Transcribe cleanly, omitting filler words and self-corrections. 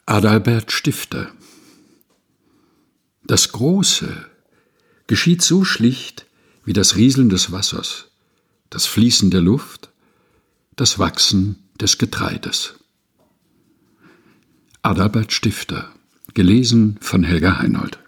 Adalbert Stifter. Das Große geschieht so schlicht wie das Rieseln des Wassers, das Fließen der Luft, das Wachsen des Getreides. Adalbert Stifter, gelesen von Helga Heinold.